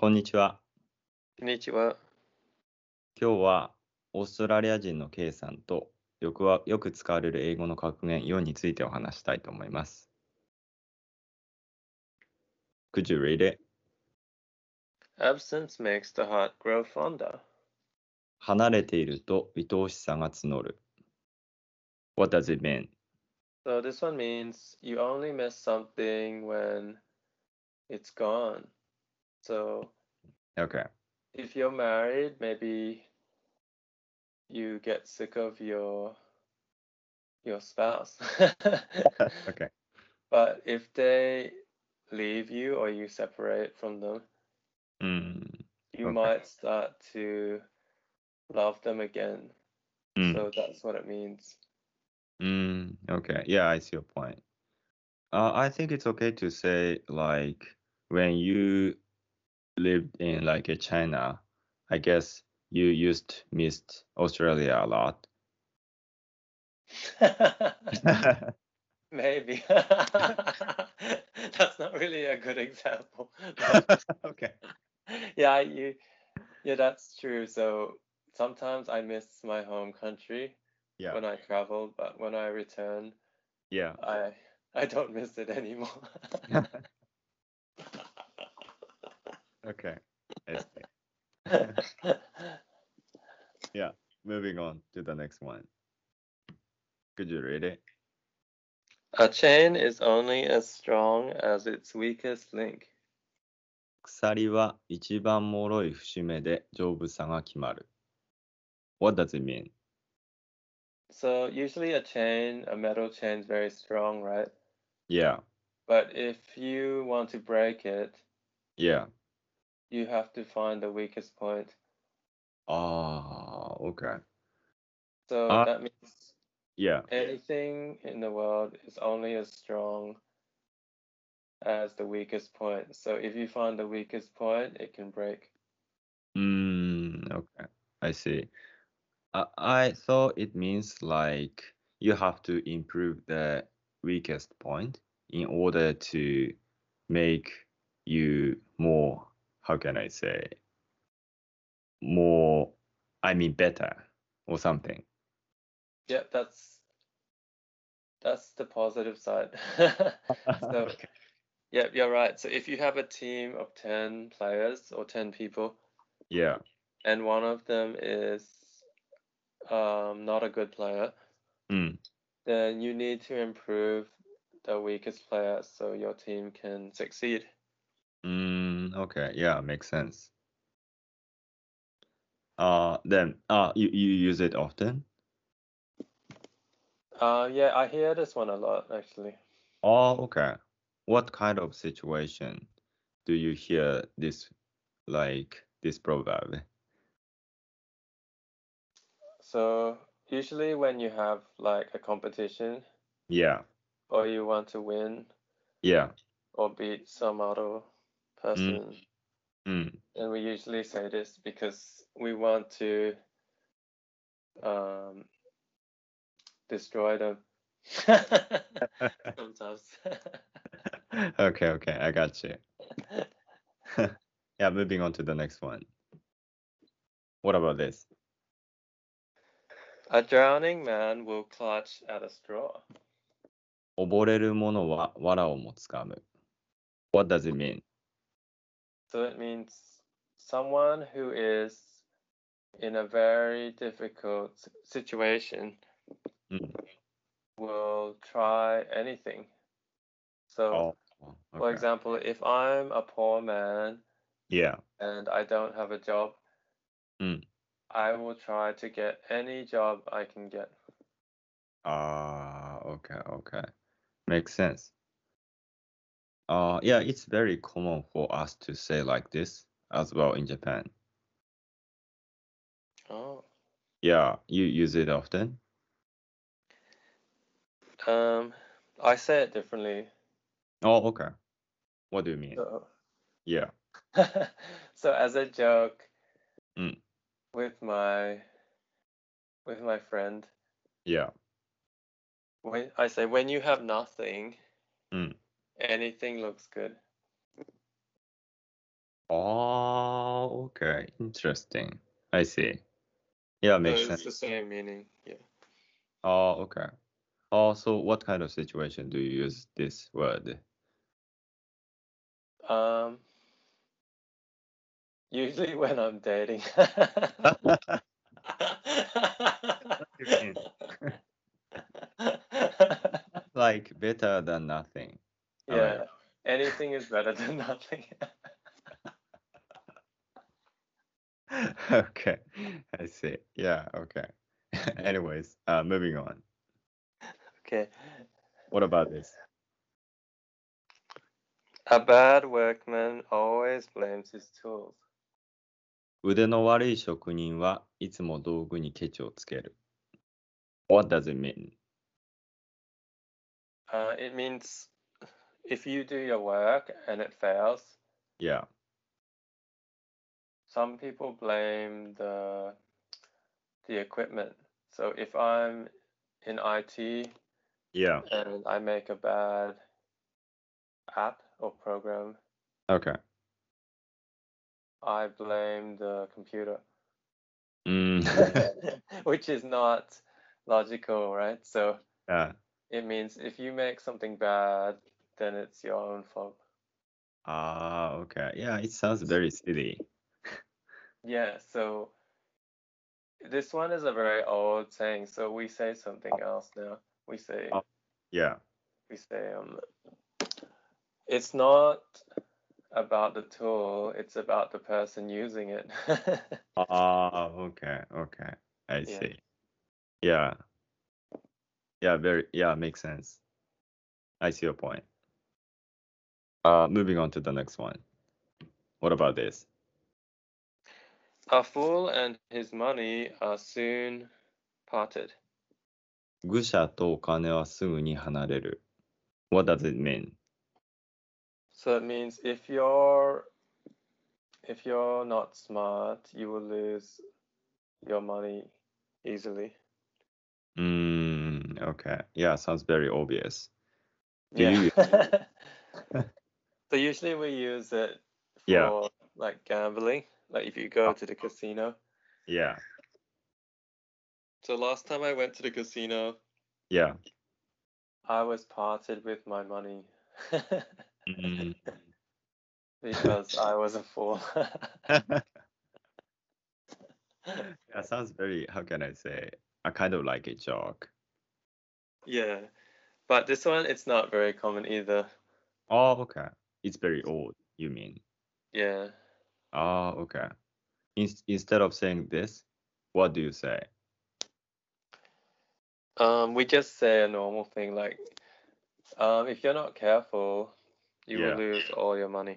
こんにちは。 こんにちは。 今日はオーストラリア人の K さんとよく使われる英語の格言4についてお話したいと思います。Could you read it? Absence makes the heart grow fonder. 離れていると愛おしさが募る。What does it mean? So this one means you only miss something when it's gone. So Okay. if you're married, maybe you get sick of your spouse. Okay. But if they leave you or you separate from them, うん。 you Okay. might start to love them again. うん。 So that's what it means. Okay. Yeah, I see your point. I think it's okay to say like when you lived in like a China, I guess you used missed Australia a lot. Maybe. That's not really a good example. But Okay. yeah, yeah, that's true. So sometimes I miss my home country Yeah. when I travel, but when I return, Yeah. I I don't miss it anymore. Okay. I see. Yeah. Moving on to the next one. Could you read it? A chain is only as strong as its weakest link. 鎖は一番脆い節目で丈夫さが決まる。What does it mean? So usually a metal chain is very strong, right? Yeah. But if you want to break it, Yeah. you have to find the weakest point. Okay. So Uh, that means yeah. anything in the world is only as strong as the weakest point. So if you find the weakest point, it can break. Okay. I see. I thought it means like you have to improve the weakest point in order to make you more, how can I say, more, I mean, better or something. Yeah, that's the positive side. So Okay. yeah, you're right. So if you have a team of 10 players or 10 people, Yeah. and one of them is not a good player, Mm. then you need to improve the weakest player so your team can succeed. Okay. Yeah, makes sense. Then you use it often? Yeah, I hear this one a lot actually. Oh, okay. What kind of situation do you hear this like this proverb? So usually when you have like a competition Yeah. or you want to win Yeah. or beat some other Mm, person, mm. and we usually say this because we want to um, destroy them. Sometimes. Okay, okay, I got you. Yeah, moving on to the next one. What about this? A drowning man will clutch at a straw. 溺れる者は藁をもつかむ。What does it mean? So it means someone who is in a very difficult situation Mm. will try anything. So, Oh, for okay. example, if I'm a poor man Yeah. and I don't have a job, Mm. I will try to get any job I can get. Okay, okay. Makes sense. Yeah, it's very common for us to say like this as well in Japan. Oh, Yeah, you use it often? um, I say it differently. Oh, okay. What do you mean? So, Yeah. so as a joke Mm. with my friend, Yeah. when I say when you have nothing, Mm. anything looks good. okay. Interesting. I see. Yeah, So makes it's sense. the same meaning. Yeah. Oh, okay. Oh, so what kind of situation do you use this word? Um, usually when I'm dating. What do you mean? Like better than nothing. Am I Yeah, anything is better than nothing. right? Okay. I see. Yeah, okay. Anyways, moving on. Okay. What about this? A bad workman always blames his tools. 腕の悪い職人はいつも道具にケチをつける。What does it mean? It means if you do your work and it fails, Yeah. some people blame the equipment. So if I'm in IT Yeah. and I make a bad app or program, Okay. I blame the computer, Mm. which is not logical, right? So Yeah. it means if you make something bad, then it's your own fault. Ah, okay. Yeah, it sounds very silly. Yeah, so this one is a very old saying, so we say something else now. We say Oh, yeah. we say it's not about the tool, it's about the person using it. Ah, okay, okay. I Yeah. see. Yeah. Yeah, makes sense. I see your point. Moving on to the next one. What about this? A fool and his money are soon parted. 愚者とお金はすぐに離れる。What does it mean? So it means if you're not smart, you will lose your money easily. Okay. Yeah, sounds very obvious. Do Yeah. you? So usually we use it Yeah, for like gambling, like if you go to the casino. yeah, So last time I went to the casino, yeah. I was parted with my money Mm. because I was a fool. Yeah, sounds very, how can I say, I kind of like a joke. Yeah, but this one it's not very common either. Oh, okay. It's very old, you mean? Yeah. Oh, okay. Instead of saying this, what do you say? We just say a normal thing like, if you're not careful, you will Yeah. lose all your money.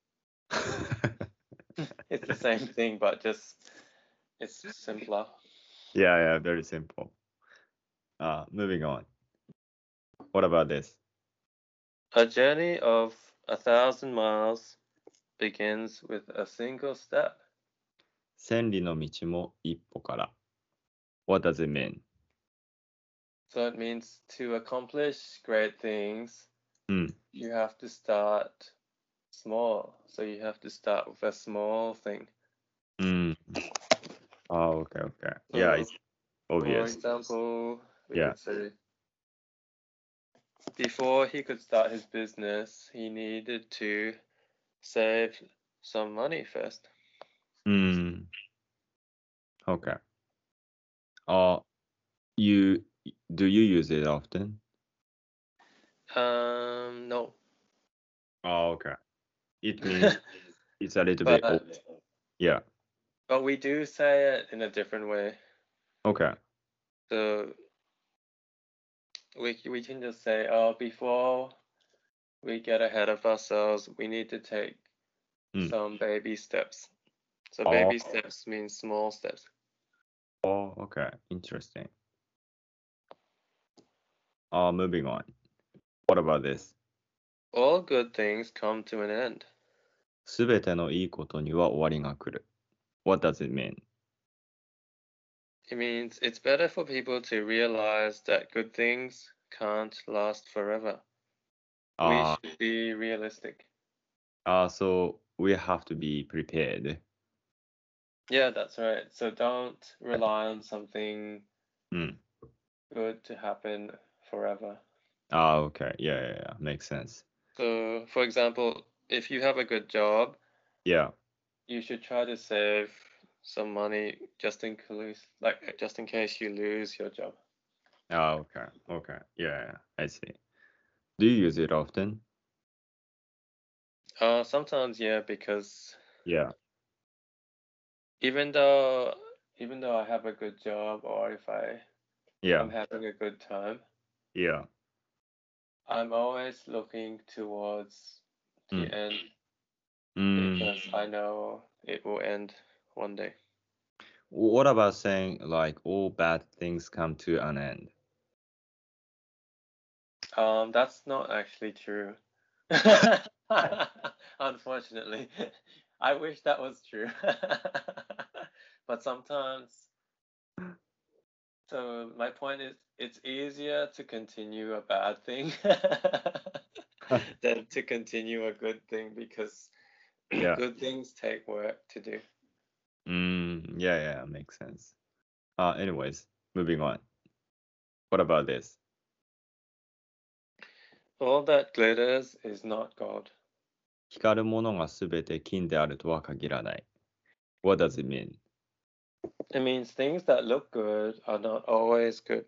It's the same thing, but just it's simpler. Yeah, very simple. Moving on. What about this? A journey of 1,000 miles begins with a single step. 千里の道も一歩から。What does it mean? So it means to accomplish great things, you have to start small. So you have to start with a small thing. Oh, okay. Yeah, it's For obvious. example, we Yeah. could say before he could start his business, he needed to save some money first. Okay. Do you use it often? No. Oh, okay. It means it's a little bit old. Yeah. But we do say it in a different way. Okay. So we can just say, oh, before we get ahead of ourselves, we need to take some baby steps. So baby steps means small steps. Oh, okay. Interesting. Moving on. What about this? All good things come to an end. すべてのいいことには終わりが来る。What does it mean? It means it's better for people to realize that good things can't last forever. We should be realistic. So we have to be prepared. Yeah, that's right. So don't rely on something good to happen forever. Oh, okay. Yeah. Makes sense. So, for example, if you have a good job, yeah, you should try to save some money just in case you lose your job. Oh, okay. Yeah, I see. Do you use it often? Sometimes, yeah, because Yeah. even though I have a good job or if I'm having a good time, Yeah. I'm always looking towards the end Mm. because I know it will end one day. What about saying like all bad things come to an end? That's not actually true. Unfortunately. I wish that was true. But sometimes, so my point is, it's easier to continue a bad thing than to continue a good thing because Yeah. good things take work to do. Yeah, makes sense. Anyways, moving on. What about this? All that glitters is not gold. 光るものがすべて金であるとは限らない。What does it mean? It means things that look good are not always good.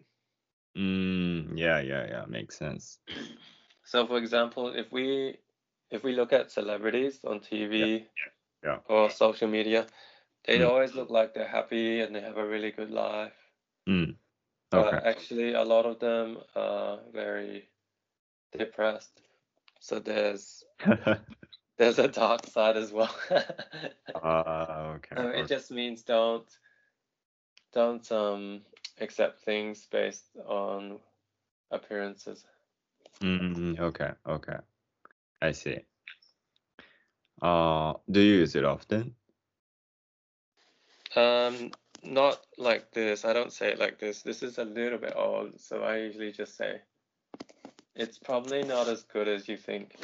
Yeah, makes sense. So, for example, if we look at celebrities on TV Yeah. or social media, they always look like they're happy and they have a really good life. Okay. But actually, a lot of them are very depressed. So there's a dark side as well. Okay. It just means don't accept things based on appearances. Okay. I see. Do you use it often? Not like this. I don't say it like this. This is a little bit old, so I usually just say, it's probably not as good as you think.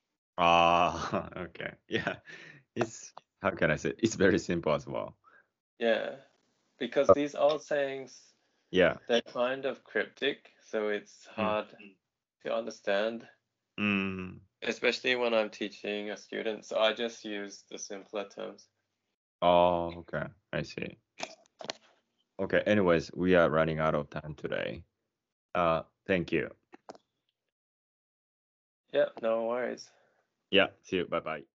Okay. Yeah. How can I say it? It's very simple as well. Yeah, because these old sayings, Yeah. they're kind of cryptic, so it's hard to understand, especially when I'm teaching a student. So I just use the simpler terms. Oh, okay. I see. Okay. Anyways, we are running out of time today. Thank you. Yeah, no worries. Yeah. See you. Bye bye.